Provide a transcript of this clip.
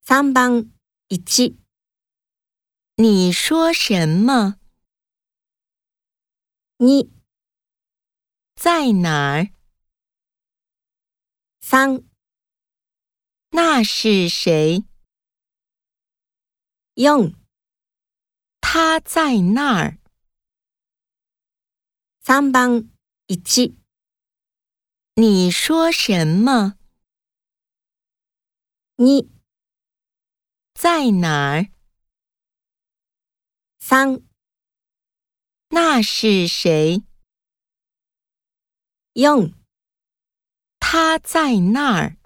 3番1。 你说什么？ 2、 在哪儿？ 3、 那是谁？ 4、 他在那儿。 3番1。 你说什么？ 2、 在哪儿？ 3、 那是谁？ 4 他在那儿。